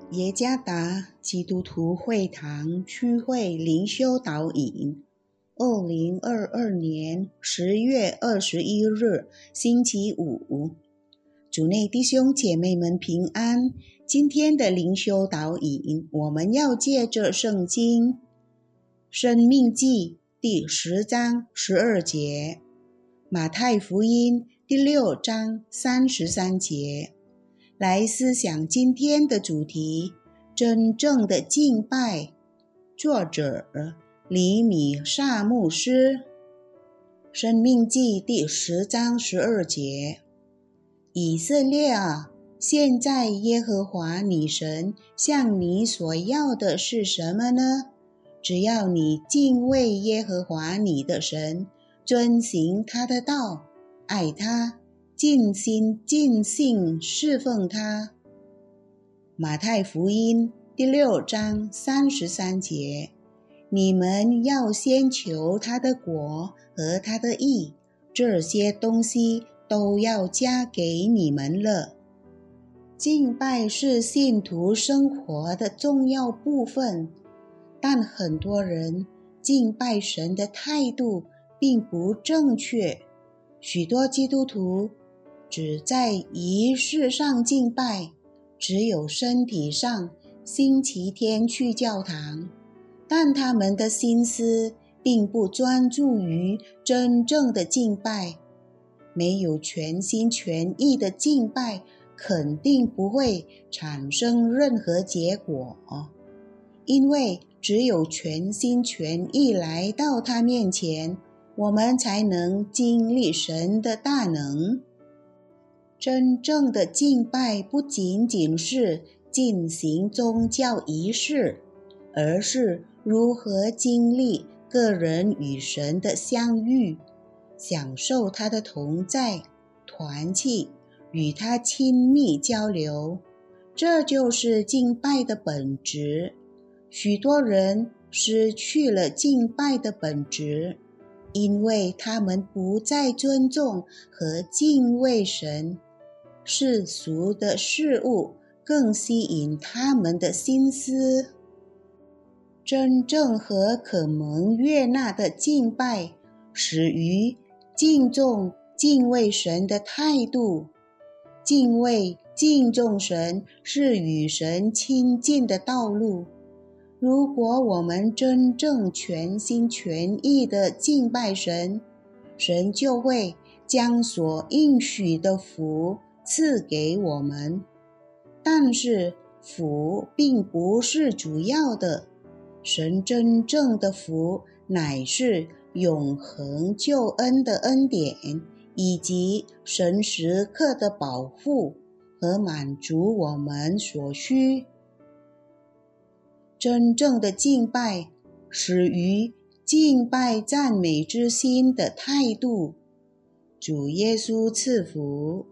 耶加达基督徒会堂区会灵修导引，2022年10月21日星期五，主内弟兄姐妹们平安。今天的灵修导引，我们要借着圣经申命记第10章12节，马太福音第6章33节来思想今天的主题：真正的敬拜。作者李米萨牧师。申命记第10章12节，以色列啊，现在耶和华你神向你所要的是什么呢？只要你敬畏耶和华你的神，遵行他的道，爱他，尽心尽性侍奉他。马太福音第6章33节，你们要先求他的国和他的义，这些东西都要加给你们了。敬拜是信徒生活的重要部分，但很多人敬拜神的态度并不正确。许多基督徒只在仪式上敬拜，只有身体上星期天去教堂，但他们的心思并不专注于真正的敬拜。没有全心全意的敬拜，肯定不会产生任何结果，因为只有全心全意来到他面前，我们才能经历神的大能。真正的敬拜不仅仅是进行宗教仪式，而是如何经历个人与神的相遇，享受他的同在、团契，与他亲密交流。这就是敬拜的本质。许多人失去了敬拜的本质，因为他们不再尊重和敬畏神。世俗的事物更吸引他们的心思。真正和可蒙悦纳的敬拜，始于敬重、敬畏神的态度。敬畏、敬重神是与神亲近的道路。如果我们真正全心全意地敬拜神，神就会将所应许的福赐给我们。但是福并不是主要的，神真正的福乃是永恒救恩的恩典，以及神时刻的保护和满足我们所需。真正的敬拜始于敬拜赞美之心的态度。主耶稣赐福。